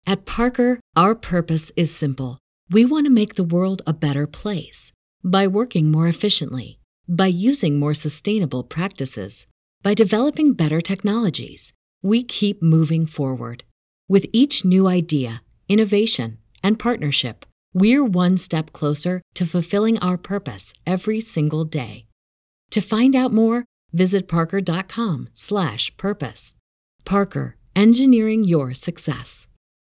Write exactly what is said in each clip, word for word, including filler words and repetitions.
At Parker, our purpose is simple. We want to make the world a better place by working more efficiently, by using more sustainable practices, by developing better technologies. We keep moving forward. With each new idea, innovation, and partnership, we're one step closer to fulfilling our purpose every single day. To find out more, visit parker.com slash purpose. Parker, engineering your success.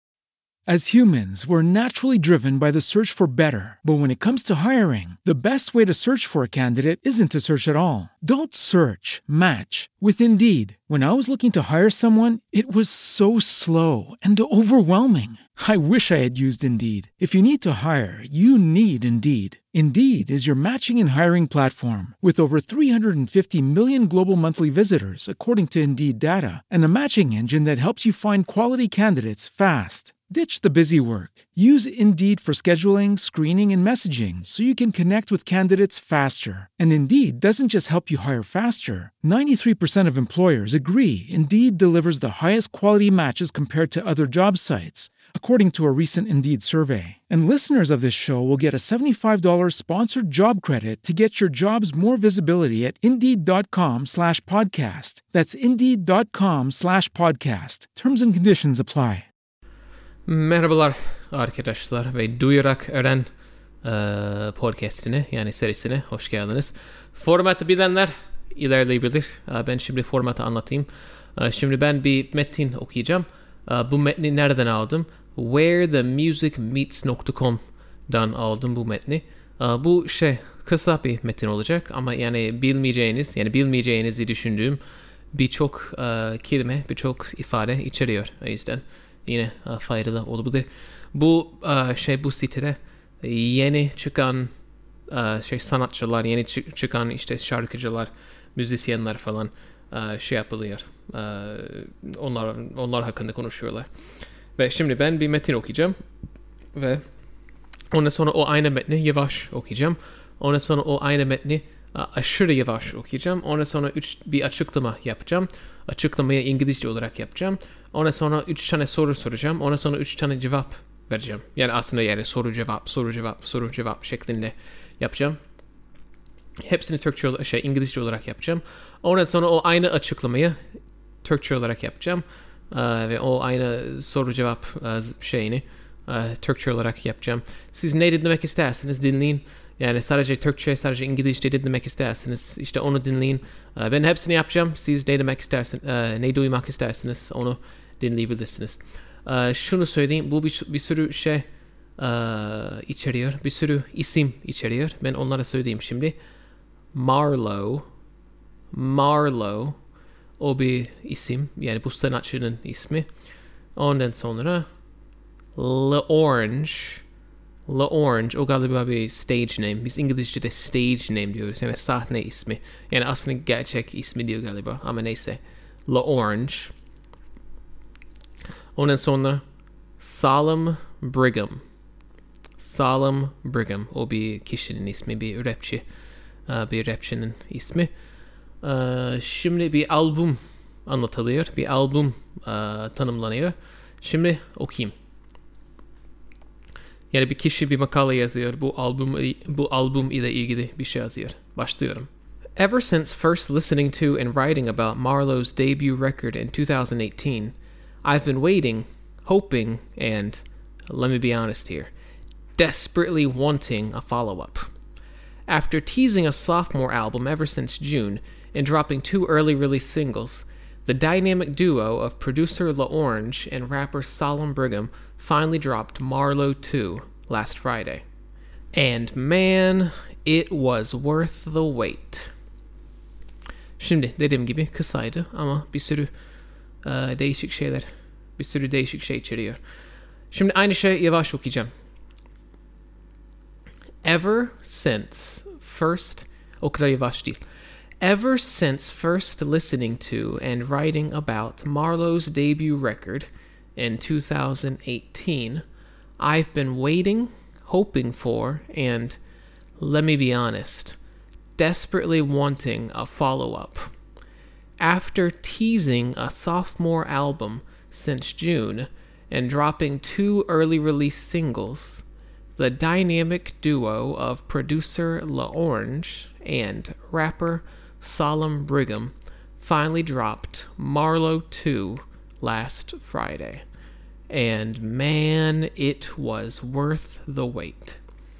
As humans, we're naturally driven by the search for better. But when it comes to hiring, the best way to search for a candidate isn't to search at all. Don't search, match with Indeed. When I was looking to hire someone, it was so slow and overwhelming. I wish I had used Indeed. If you need to hire, you need Indeed. Indeed is your matching and hiring platform with over three hundred fifty million global monthly visitors, according to Indeed data, and a matching engine that helps you find quality candidates fast. Ditch the busy work. Use Indeed for scheduling, screening, and messaging so you can connect with candidates faster. And Indeed doesn't just help you hire faster. ninety-three percent of employers agree Indeed delivers the highest quality matches compared to other job sites, according to a recent Indeed survey. And listeners of this show will get a seventy-five dollars sponsored job credit to get your jobs more visibility at Indeed.com slash podcast. That's Indeed.com slash podcast. Terms and conditions apply. Merhabalar arkadaşlar ve Duyarak Öğren e, podcastine yani serisine hoş geldiniz. Formatı bilenler ilerleyebilir. E, ben şimdi formatı anlatayım. E, şimdi ben bir metin okuyacağım. E, bu metni nereden aldım? where the music meets dot com'dan aldım bu metni. E, bu şey kısa bir metin olacak ama yani bilmeyeceğiniz yani bilmeyeceğinizi düşündüğüm birçok e, kelime, birçok ifade içeriyor. O yüzden yine uh, faydalı olabilir. Bu uh, şey bu sitede yeni çıkan uh, şey sanatçılar, yeni çı- çıkan işte şarkıcılar, müzisyenler falan uh, şey yapılıyor. Uh, onlar onlar hakkında konuşuyorlar. Ve şimdi ben bir metin okuyacağım ve ondan sonra o aynı metni yavaş okuyacağım. Ondan sonra o aynı metni uh, aşırı yavaş okuyacağım. Ondan sonra üç, bir açıklama yapacağım. Açıklamayı İngilizce olarak yapacağım. Ondan sonra üç tane soru soracağım. Ondan sonra üç tane cevap vereceğim. Yani aslında yani soru cevap, soru cevap, soru cevap şeklinde yapacağım. Hepsini Türkçe, şey İngilizce olarak yapacağım. Ondan sonra o aynı açıklamayı Türkçe olarak yapacağım. Ee, ve o aynı soru cevap e, şeyini e, Türkçe olarak yapacağım. Siz ne dinlemek isterseniz dinleyin. Yani sadece Türkçe, sadece İngilizce dinlemek isterseniz işte onu dinleyin. Ben hepsini yapacağım. Siz ne demek isterseniz, ne duymak isterseniz onu dinleyebilirsiniz. Şunu söyleyeyim, bu bir, bir sürü şey içeriyor. Bir sürü isim içeriyor. Ben onlara söyleyeyim şimdi. Marlowe. Marlowe. O bir isim. Yani bu sanatçının ismi. Ondan sonra L'Orange. L'Orange, o galiba bir stage name. Biz İngilizce'de stage name diyoruz. Yani sahne ismi. Yani aslında gerçek ismi değil galiba. Ama neyse. L'Orange. Ondan sonra Salem Brigham. Salem Brigham. O bir kişinin ismi. Bir rapçi. Bir rapçinin ismi. Şimdi bir albüm anlatılıyor. Bir albüm tanımlanıyor. Şimdi okuyayım. Yani bir kişi bir makale yazıyor. Bu albüm bu albüm ile ilgili bir şey yazıyor. Başlıyorum. Ever since first listening to and writing about Marlowe's debut record in two thousand eighteen, I've been waiting, hoping, and, let me be honest here, desperately wanting a follow-up. After teasing a sophomore album ever since June and dropping two early release singles, the dynamic duo of producer L'Orange and rapper Salem Brigham finally dropped Marlowe two last Friday. And man, it was worth the wait. Şimdi dediğim gibi kısaydı ama bir sürü uh, değişik şeyler, bir sürü değişik şey içeriyor. Şimdi aynı şey yavaş okuyacağım. Ever since first, o kadar yavaş değil. Ever since first listening to and writing about Marlowe's debut record in two thousand eighteen, I've been waiting, hoping for, and, let me be honest, desperately wanting a follow-up. After teasing a sophomore album since June and dropping two early release singles, the dynamic duo of producer LaOrange and rapper Solemn Brigham finally dropped Marlowe two last Friday. And man, it was worth the wait.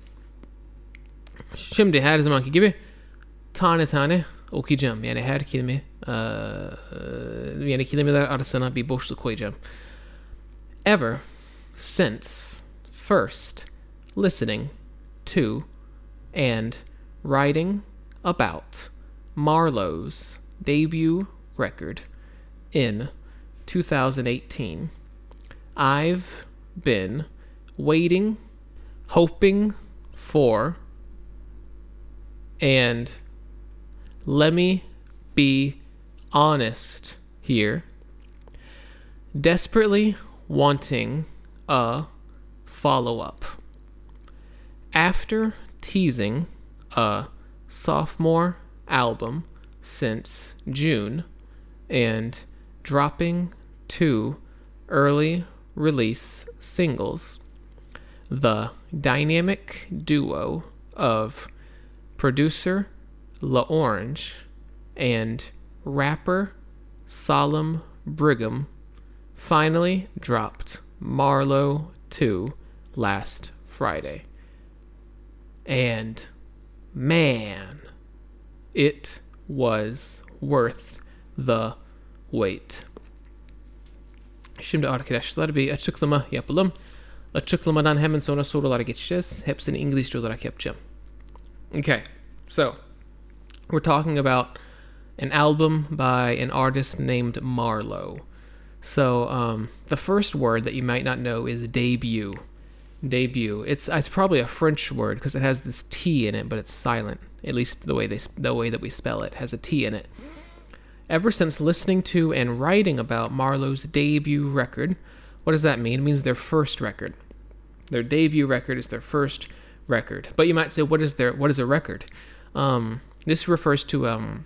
Şimdi her zamanki gibi tane tane okuyacağım. Yani her kelime uh, yani kelimeler arasına bir boşluk koyacağım. Ever since first listening to and writing about Marlowe's debut record in two thousand eighteen, I've been waiting, hoping for, and let me be honest here, desperately wanting a follow-up. After teasing a sophomore album since June and dropping two early release singles, the dynamic duo of producer LaOrange and rapper Solemn Brigham finally dropped Marlowe two last Friday. And man, it was worth the wait. Şimdi arkadaşlar bir açıklama yapalım. Açıklamadan hemen sonra sorulara geçeceğiz. Hepsini İngilizce olarak yapacağım. Okay, so we're talking about an album by an artist named Marlowe. So um, the first word that you might not know is debut. Debut. It's it's probably a French word because it has this T in it, but it's silent. At least the way they the way that we spell it has a T in it. Ever since listening to and writing about Marlowe's debut record, what does that mean? It means their first record. Their debut record is their first record. But you might say, what is their what is a record? Um, this refers to um,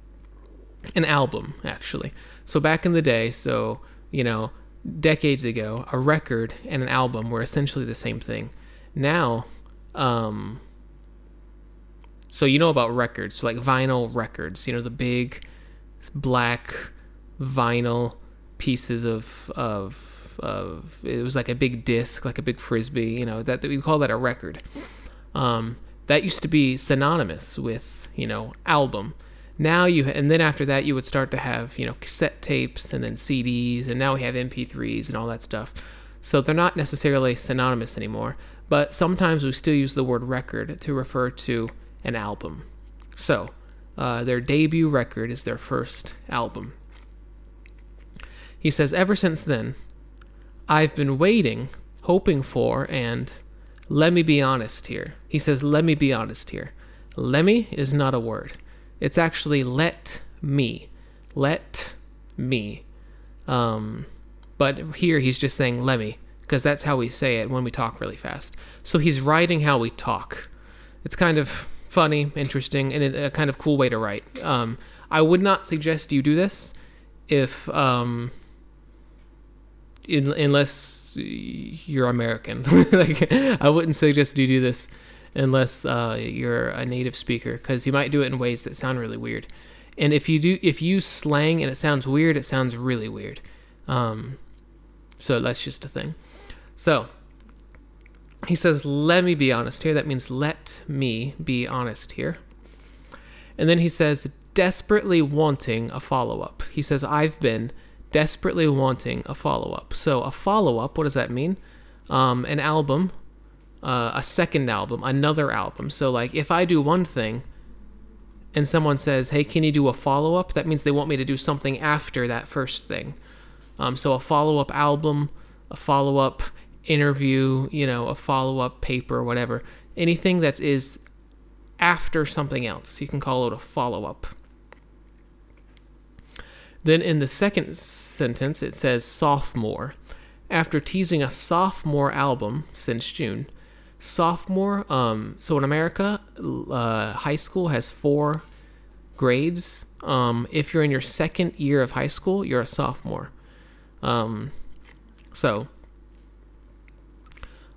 an album, actually. So back in the day, so you know, decades ago, a record and an album were essentially the same thing. Now, um, so you know about records, so like vinyl records, you know, the big black vinyl pieces of of of it was like a big disc, like a big frisbee, you know, that, that we call that a record. Um, that used to be synonymous with, you know, album. Now you, and then after that you would start to have, you know, cassette tapes and then C Ds, and now we have M P threes and all that stuff. So they're not necessarily synonymous anymore, but sometimes we still use the word record to refer to an album. So uh, their debut record is their first album. He says, ever since then, I've been waiting, hoping for, and let me be honest here. He says, let me be honest here. Let me is not a word. It's actually let me. Let me. Um, but here he's just saying let me, because that's how we say it when we talk really fast. So he's writing how we talk. It's kind of funny, interesting, and a kind of cool way to write. Um, I would not suggest you do this if, um, in, unless you're American. Like, I wouldn't suggest you do this unless uh, you're a native speaker, because you might do it in ways that sound really weird. And if you do, if you use slang and it sounds weird, it sounds really weird. Um, so that's just a thing. So he says, let me be honest here. That means let me be honest here. And then he says, desperately wanting a follow-up. He says, I've been desperately wanting a follow-up. So a follow-up, what does that mean? Um, an album. Uh, a second album, another album. So like if I do one thing and someone says, hey, can you do a follow-up? That means they want me to do something after that first thing. Um, so a follow-up album, a follow-up interview, you know, a follow-up paper, whatever. Anything that is after something else, you can call it a follow-up. Then in the second sentence, it says sophomore. After teasing a sophomore album since June, sophomore, um, so in America, uh, high school has four grades. Um, if you're in your second year of high school, you're a sophomore. Um, so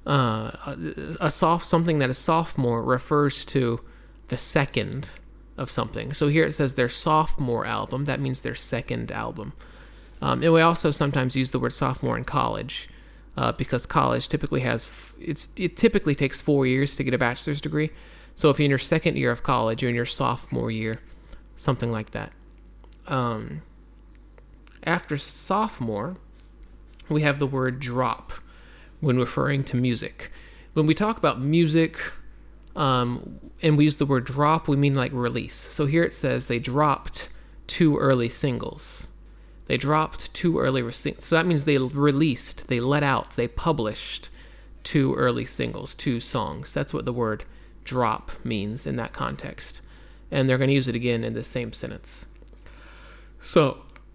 uh, a soft something that is sophomore refers to the second of something. So here it says their sophomore album. That means their second album. Um, and we also sometimes use the word sophomore in college uh, because college typically has it's it typically takes four years to get a bachelor's degree. So if you're in your second year of college, you're in your sophomore year, something like that. Um, after sophomore, we have the word drop when referring to music. When we talk about music um, and we use the word drop, we mean like release. So here it says they dropped two early singles. They dropped two early singles. So that means they released, they let out, they published two early singles, two songs. That's what the word drop means in that context. And they're going to use it again in the same sentence. So,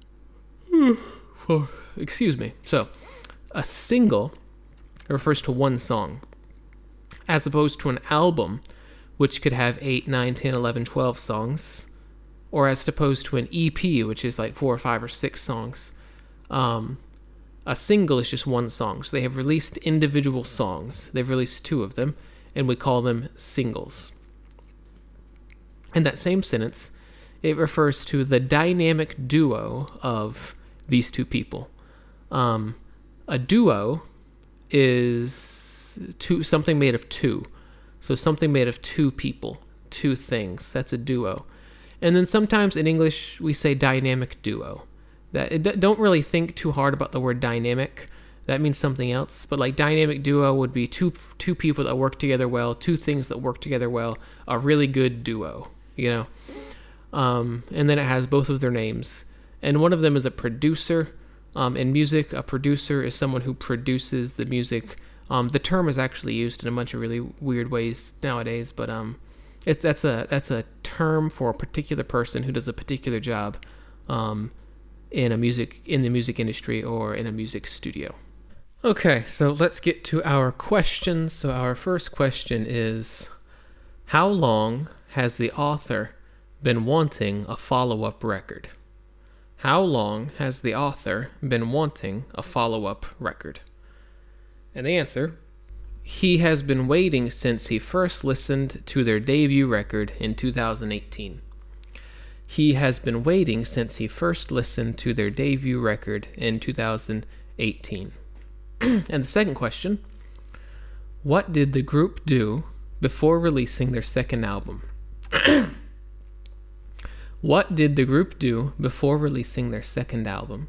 for, excuse me. So, a single refers to one song, as opposed to an album, which could have eight, nine, ten, eleven, twelve songs, or as opposed to an E P, which is like four or five or six songs. Um, a single is just one song. So they have released individual songs. They've released two of them, and we call them singles. In that same sentence, it refers to the dynamic duo of these two people. Um, a duo is two, something made of two. So something made of two people, two things. That's a duo. And then sometimes in English, we say dynamic duo. That it, don't really think too hard about the word dynamic. That means something else. But like dynamic duo would be two two people that work together well, two things that work together well, a really good duo, you know. Um, and then it has both of their names. And one of them is a producer. Um, in music, a producer is someone who produces the music. Um, the term is actually used in a bunch of really weird ways nowadays, but um, it, that's a that's a term for a particular person who does a particular job um, in a music in the music industry or in a music studio. Okay, so let's get to our questions. So our first question is, how long has the author been wanting a follow-up record? How long has the author been wanting a follow-up record? And the answer, he has been waiting since he first listened to their debut record in two thousand eighteen. He has been waiting since he first listened to their debut record in two thousand eighteen. And the second question, what did the group do before releasing their second album? What did the group do before releasing their second album?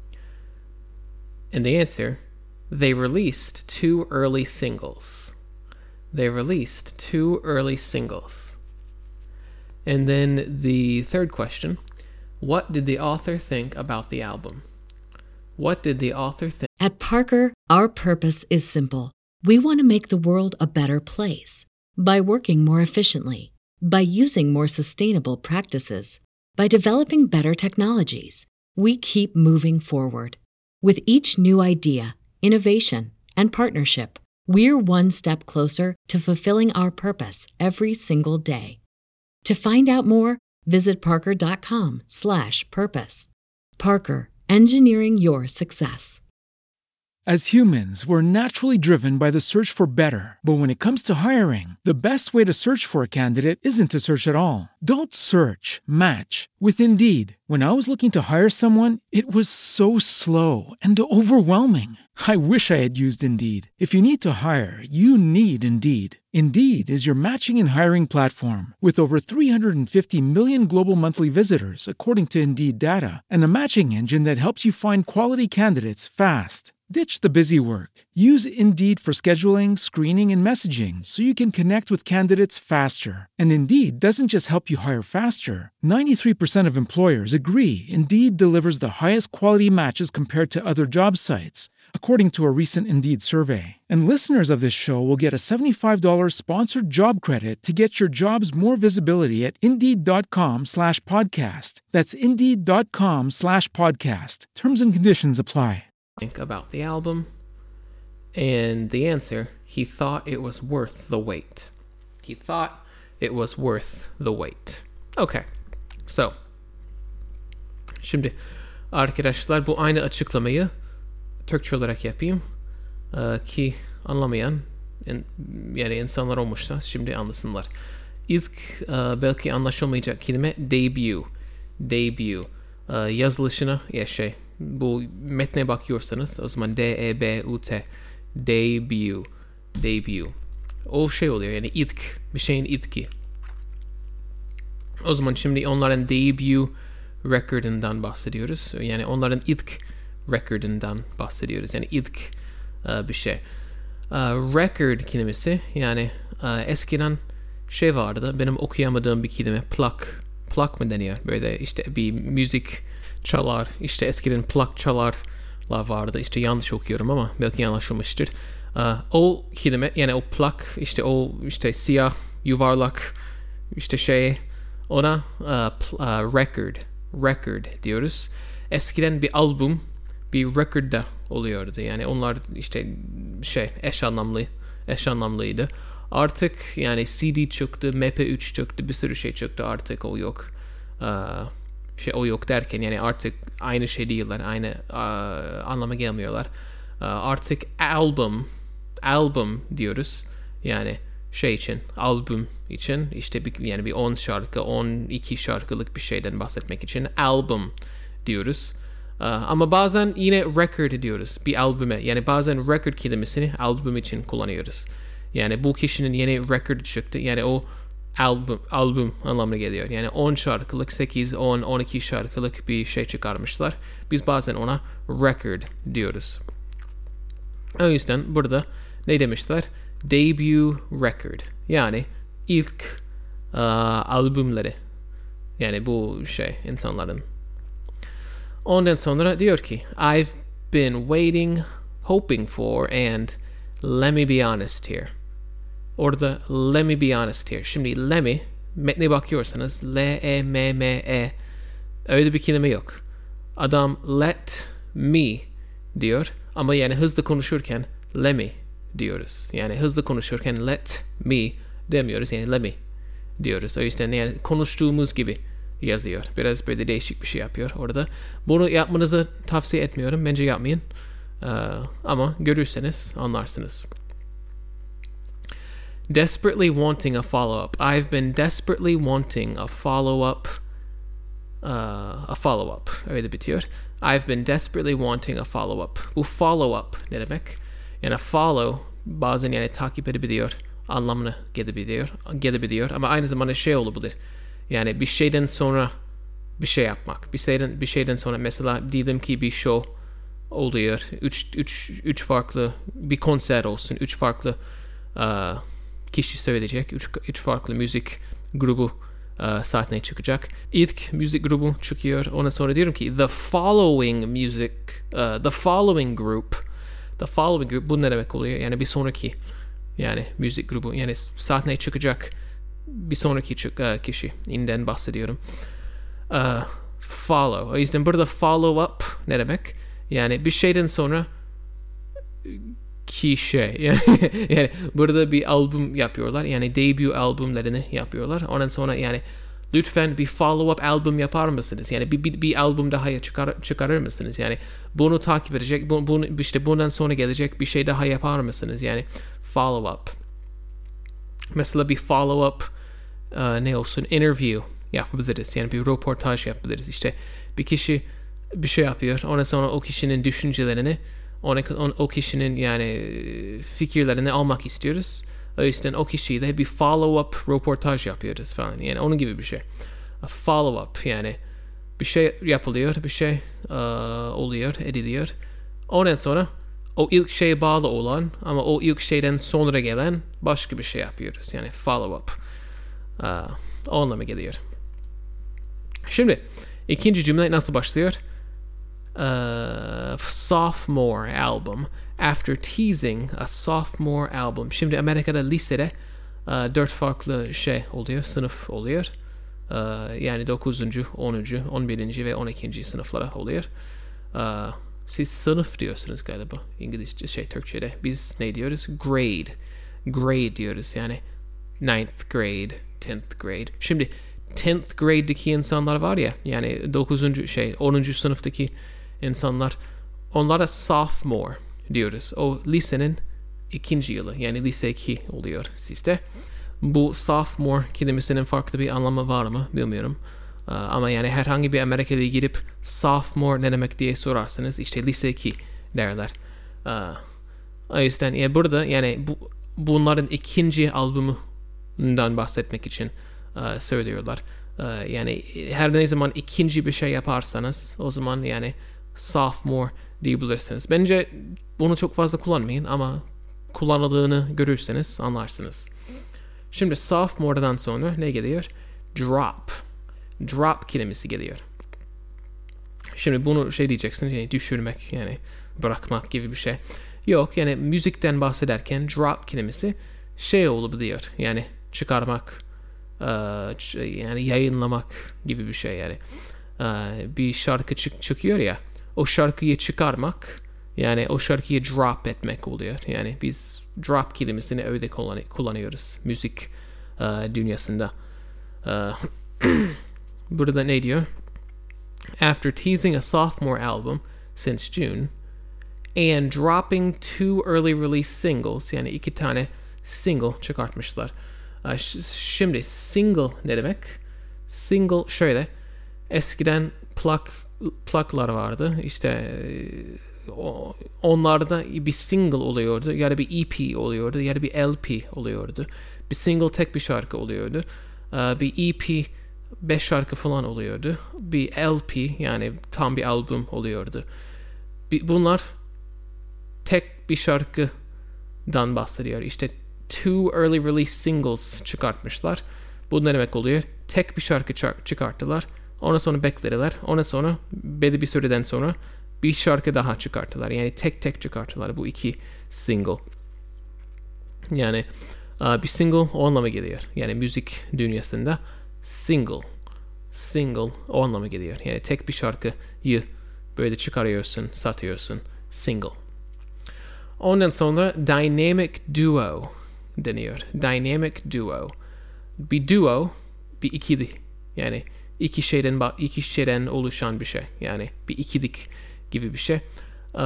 And the answer, they released two early singles. They released two early singles. And then the third question, what did the author think about the album? What did the author think? At Parker, our purpose is simple. We want to make the world a better place by working more efficiently, by using more sustainable practices, by developing better technologies. We keep moving forward. With each new idea, innovation, and partnership, we're one step closer to fulfilling our purpose every single day. To find out more, visit parker.com slash purpose. Parker, engineering your success. As humans, we're naturally driven by the search for better. But when it comes to hiring, the best way to search for a candidate isn't to search at all. Don't search, match with Indeed. When I was looking to hire someone, it was so slow and overwhelming. I wish I had used Indeed. If you need to hire, you need Indeed. Indeed is your matching and hiring platform with over three hundred fifty million global monthly visitors, according to Indeed data, and a matching engine that helps you find quality candidates fast. Ditch the busy work. Use Indeed for scheduling, screening, and messaging so you can connect with candidates faster. And Indeed doesn't just help you hire faster. ninety-three percent of employers agree Indeed delivers the highest quality matches compared to other job sites, according to a recent Indeed survey. And listeners of this show will get a seventy-five dollars sponsored job credit to get your jobs more visibility at Indeed.com slash podcast. That's Indeed.com slash podcast. Terms and conditions apply. Think about the album, and the answer, he thought it was worth the wait. He thought it was worth the wait. Okay, so şimdi arkadaşlar bu aynı açıklamayı Türkçe olarak yapayım. Ee, ki anlamayan in, yani insanlar olmuşsa şimdi anlasınlar. İlk e, belki anlaşılmayacak kelime debut. Debut. E, yazılışına ya şey bu metne bakıyorsanız o zaman D E B U T debut. Debut. O şey oluyor yani ilk bir şeyin ilki. O zaman şimdi onların debut record'ından bahsediyoruz. Yani onların ilk record'ından bahsediyoruz. Yani ilk uh, bir şey. Uh, record kelimesi yani uh, eskiden şey vardı. Benim okuyamadığım bir kelime. Plak. Plak mı deniyor? Böyle işte bir müzik çalar. İşte eskiden plak çalarlar vardı. İşte yanlış okuyorum ama belki yanlışılmıştır. Uh, o kelime yani o plak işte o işte siyah yuvarlak işte şey ona uh, pl- uh, record record diyoruz. Eskiden bir albüm bir record'da oluyordu. Yani onlar işte şey eş anlamlı eş anlamlıydı. Artık yani C D çıktı, M P üç çıktı, bir sürü şey çıktı. Artık o yok. Uh, şey o yok derken yani artık aynı şey değiller. Aynı uh, anlama gelmiyorlar. Uh, artık albüm albüm diyoruz. Yani şey için, albüm için işte bir, yani bir on şarkı, on iki şarkılık bir şeyden bahsetmek için albüm diyoruz. Uh, ama bazen yine record diyoruz bir albüme. Yani bazen record kelimesini albüm için kullanıyoruz. Yani bu kişinin yeni record çıktı. Yani o albüm, albüm anlamına geliyor. Yani on şarkılık, sekiz, on, on iki şarkılık bir şey çıkarmışlar. Biz bazen ona record diyoruz. O yüzden burada ne demişler? Debut record. Yani ilk uh, albümleri. Yani bu şey insanların. Ondan sonra diyor ki I've been waiting, hoping for and let me be honest here. Orada let me be honest here. Şimdi let me metne bakıyorsanız L-E-M-M-E öyle bir kelime yok. Adam let me diyor ama yani hızlı konuşurken let me diyoruz. Yani hızlı konuşurken let me demiyoruz. Yani let me diyoruz. O yüzden yani konuştuğumuz gibi yazıyor. Biraz böyle değişik bir şey yapıyor orada. Bunu yapmanızı tavsiye etmiyorum. Bence yapmayın. Ee, ama görürseniz anlarsınız. Desperately wanting a follow-up. I've been desperately wanting a follow-up. Uh, a follow-up. Öyle bitiyor. I've been desperately wanting a follow-up. Bu follow-up ne demek? Yani follow bazen yani takip edebiliyor. Anlamına gelebiliyor. Gelebiliyor. Ama aynı zamanda şey olabilir. Yani bir şeyden sonra bir şey yapmak. Bir şeyden, bir şeyden sonra mesela diyelim ki bir show oluyor. Üç, üç, üç farklı bir konser olsun. Üç farklı uh, kişi söyleyecek. Üç, üç farklı müzik grubu uh, sahneye çıkacak. İlk müzik grubu çıkıyor. Ondan sonra diyorum ki the following music uh, the following group the following group bu ne demek oluyor? Yani bir sonraki yani müzik grubu yani sahneye çıkacak bir sonraki çık, uh, kişi inden bahsediyorum. Uh, follow. O yüzden burada follow up ne demek? Yani bir şeyden sonra kişi. Yani, yani burada bir albüm yapıyorlar. Yani debut albümlerini yapıyorlar. Ondan sonra yani lütfen bir follow up albüm yapar mısınız? Yani bir, bir, bir albüm daha çıkar, çıkarır mısınız? Yani bunu takip edecek, bu, bunu, işte bundan sonra gelecek bir şey daha yapar mısınız? Yani follow up. Mesela bir follow up uh, ne olsun? Interview yapabiliriz. Yani bir röportaj yapabiliriz. İşte bir kişi bir şey yapıyor. Ondan sonra o kişinin düşüncelerini o, o kişinin yani fikirlerini almak istiyoruz. O yüzden o kişiyle bir follow up röportaj yapıyoruz falan. Yani onun gibi bir şey. A follow up yani bir şey yapılıyor, bir şey uh, oluyor, ediliyor. Ondan sonra o ilk şeye bağlı olan ama o ilk şeyden sonra gelen başka bir şey yapıyoruz. Yani follow up. Uh, o anlama geliyor. Şimdi ikinci cümle nasıl başlıyor? Uh, sophomore album. After teasing a sophomore album. Şimdi Amerika'da lisede uh, dört farklı şey oluyor, sınıf oluyor. Uh, yani dokuzuncu, onuncu, on birinci ve on ikinci sınıflara oluyor. Uh, siz sınıf diyorsunuz galiba İngilizce şey Türkçe'de. Biz ne diyoruz? Grade. Grade diyoruz yani ninth grade, tenth grade. Şimdi tenth grade'deki insanlar var ya yani dokuzuncu şey onuncu sınıftaki insanlar onlara sophomore diyoruz. O lisenin ikinci yılı, yani lise iki oluyor sizde. Bu sophomore kelimesinin farklı bir anlamı var mı bilmiyorum. Uh, ama yani herhangi bir Amerika'ya gidip sophomore ne demek diye sorarsanız işte lise iki derler. Uh, o yüzden yani burada yani bu, bunların ikinci albümünden bahsetmek için uh, söylüyorlar. Uh, yani her ne zaman ikinci bir şey yaparsanız o zaman yani sophomore diyebilirsiniz. Bence bunu çok fazla kullanmayın ama kullanıldığını görürseniz anlarsınız. Şimdi sophomore'dan sonra ne geliyor? Drop. Drop kelimesi geliyor. Şimdi bunu şey diyeceksiniz yani düşürmek yani bırakmak gibi bir şey. Yok yani müzikten bahsederken drop kelimesi şey olabiliyor yani çıkarmak yani yayınlamak gibi bir şey yani. Bir şarkı çık çıkıyor ya o şarkıyı çıkarmak yani o şarkıyı drop etmek oluyor. Yani biz drop kelimesini öyle kullan kullanıyoruz müzik uh, dünyasında. Uh, burada ne diyor? After teasing a sophomore album since June and dropping two early release singles yani iki tane single çıkartmışlar. Uh, şimdi single ne demek? Single şöyle eskiden plak plaklar vardı işte onlarda bir single oluyordu ya da bir E P oluyordu ya da bir L P oluyordu. Bir single tek bir şarkı oluyordu. Bir E P beş şarkı falan oluyordu. Bir L P yani tam bir albüm oluyordu. Bunlar tek bir şarkıdan bahsediyor. İşte two early release singles çıkartmışlar. Bu ne demek oluyor? Tek bir şarkı çıkarttılar. Ondan sonra beklediler. Ondan sonra belli bir süreden sonra bir şarkı daha çıkarttılar. Yani tek tek çıkarttılar bu iki single. Yani bir single o anlama geliyor. Yani müzik dünyasında single. Single o anlama geliyor. Yani tek bir şarkıyı böyle çıkarıyorsun, satıyorsun. Single. Ondan sonra dynamic duo deniyor. Dynamic duo. Bir duo, bir ikili. Yani iki şeyden iki şeyden oluşan bir şey. Yani bir ikilik gibi bir şey. Uh,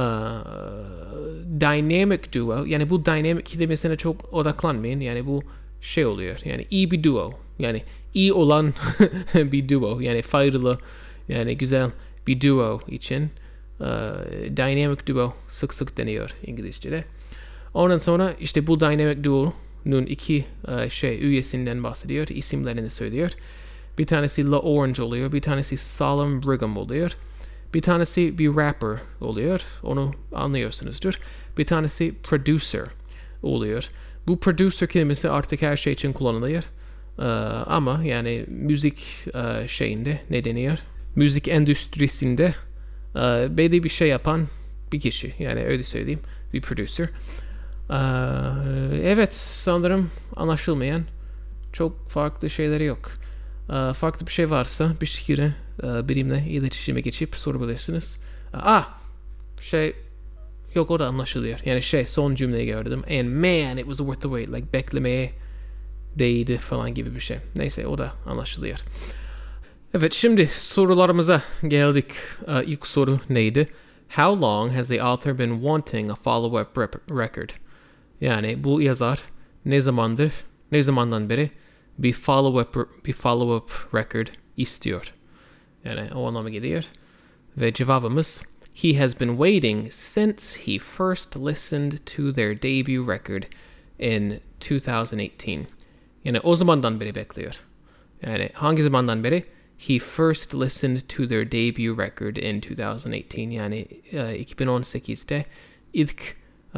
dynamic duo. Yani bu dynamic kelimesine çok odaklanmayın. Yani bu şey oluyor. Yani iyi bir duo. Yani iyi olan bir duo. Yani faydalı, yani güzel bir duo için uh, dynamic duo sık sık deniyor İngilizce'de. Ondan sonra işte bu dynamic duo'nun iki uh, şey üyesinden bahsediyor. İsimlerini söylüyor. Bir tanesi La Orange oluyor. Bir tanesi Solemn Brigham oluyor. Bir tanesi bir rapper oluyor. Onu anlıyorsunuzdur. Bir tanesi producer oluyor. Bu producer kelimesi artık her şey için kullanılıyor. Ee, ama yani müzik e, şeyinde ne deniyor? Müzik endüstrisinde e, belli bir şey yapan bir kişi. Yani öyle söyleyeyim. Bir producer. Ee, evet sanırım anlaşılmayan çok farklı şeyleri yok. Ee, farklı bir şey varsa bir şekilde e, benimle iletişime geçip sorabilirsiniz. Ah şey yok o da anlaşılıyor. Yani şey son cümleyi gördüm. And man it was worth the wait. Like beklemeye değdi falan gibi bir şey. Neyse o da anlaşılıyor. Evet şimdi sorularımıza geldik. Uh, ilk soru neydi? How long has the author been wanting a follow-up rep- record? Yani bu yazar ne zamandır, ne zamandan beri bir follow-up bir follow-up record istiyor. Yani o anlama geliyor. Ve cevabımız he has been waiting since he first listened to their debut record in twenty eighteen. Yani o zamandan beri bekliyor. Yani hangi zamandan beri? He first listened to their debut record in twenty eighteen. Yani uh, iki bin on sekizde ilk uh,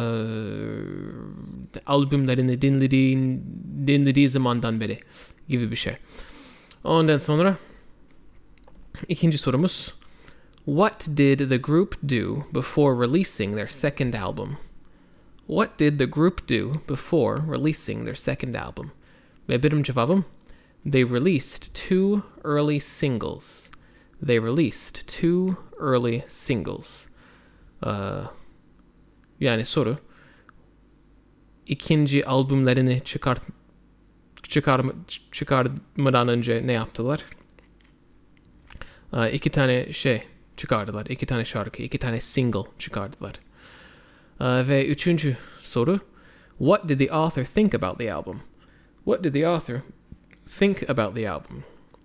albümlerini dinlediğin, dinlediği zamandan beri gibi bir şey. Ondan sonra ikinci sorumuz. What did the group do before releasing their second album? What did the group do before releasing their second album? Ve benim cevabım, they released two early singles. They released two early singles. Uh, yani soru, ikinci albümlerini çıkart, çıkar, çıkarmadan önce ne yaptılar? Uh, iki tane şey çıkardılar. İki tane şarkı, iki tane single çıkardılar. Uh, ve üçüncü soru. What did the author think about the album? What did the author think about the album?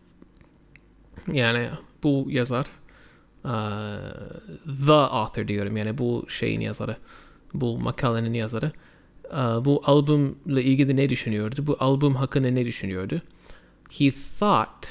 Yani bu yazar, uh, the author diyorum, yani bu şeyin yazarı, bu makalenin yazarı, uh, bu albümle ilgili ne düşünüyordu? Bu albüm hakkında ne düşünüyordu? He thought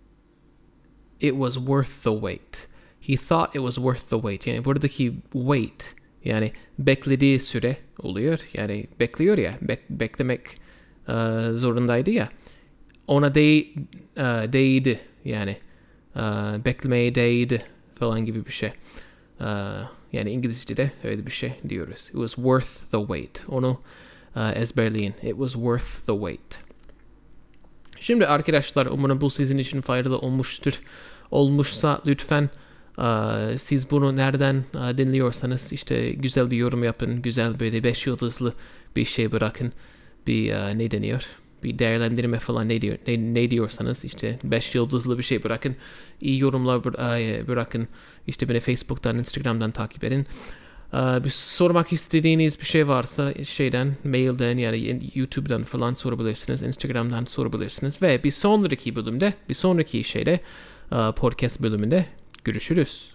it was worth the wait. He thought it was worth the wait. Yani buradaki wait, yani beklediği süre oluyor. Yani bekliyor ya, bek, beklemek uh, zorundaydı ya. Ona değ, uh, değdi yani. Uh, beklemeye değdi falan gibi bir şey. Uh, yani İngilizce'de öyle bir şey diyoruz. It was worth the wait. Onu uh, ezberleyin. It was worth the wait. Şimdi arkadaşlar, umarım bu sizin için faydalı olmuştur. Olmuşsa lütfen uh, siz bunu nereden uh, dinliyorsanız işte güzel bir yorum yapın. Güzel böyle beş yıldızlı bir şey bırakın. Bir uh, ne deniyor? Bir değerlendirme falan ne, diyor, ne, ne diyorsanız işte beş yıldızlı bir şey bırakın. İyi yorumlar bırakın. İşte beni Facebook'tan, Instagram'dan takip edin. Uh, bir sormak istediğiniz bir şey varsa şeyden, mailden yani YouTube'dan falan sorabilirsiniz. Instagram'dan sorabilirsiniz. Ve bir sonraki bölümde, bir sonraki şeyde uh, podcast bölümünde görüşürüz.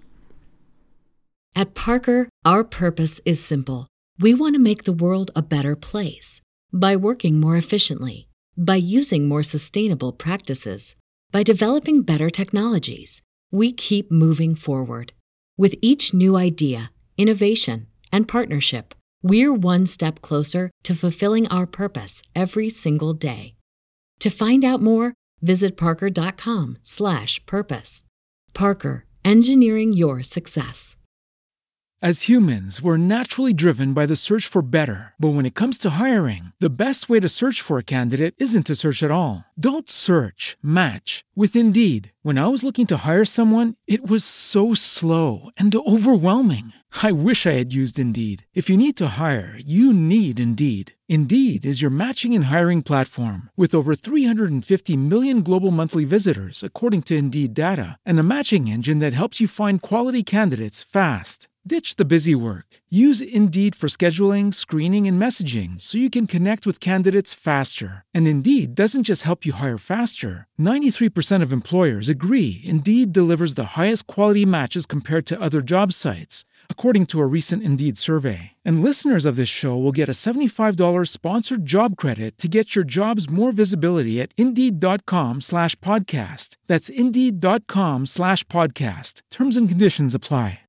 At Parker, our purpose is simple. We want to make the world a better place by working more efficiently, by using more sustainable practices, by developing better technologies. We keep moving forward. With each new idea, innovation, and partnership, we're one step closer to fulfilling our purpose every single day. To find out more, visit parker.com slash purpose. Parker, engineering your success. As humans, we're naturally driven by the search for better. But when it comes to hiring, the best way to search for a candidate isn't to search at all. Don't search, match with Indeed. When I was looking to hire someone, it was so slow and overwhelming. I wish I had used Indeed. If you need to hire, you need Indeed. Indeed is your matching and hiring platform with over three hundred fifty million global monthly visitors, according to Indeed data, and a matching engine that helps you find quality candidates fast. Ditch the busy work. Use Indeed for scheduling, screening, and messaging so you can connect with candidates faster. And Indeed doesn't just help you hire faster. ninety-three percent of employers agree Indeed delivers the highest quality matches compared to other job sites, according to a recent Indeed survey. And listeners of this show will get a seventy-five dollars sponsored job credit to get your jobs more visibility at Indeed.com slash podcast. That's Indeed.com slash podcast. Terms and conditions apply.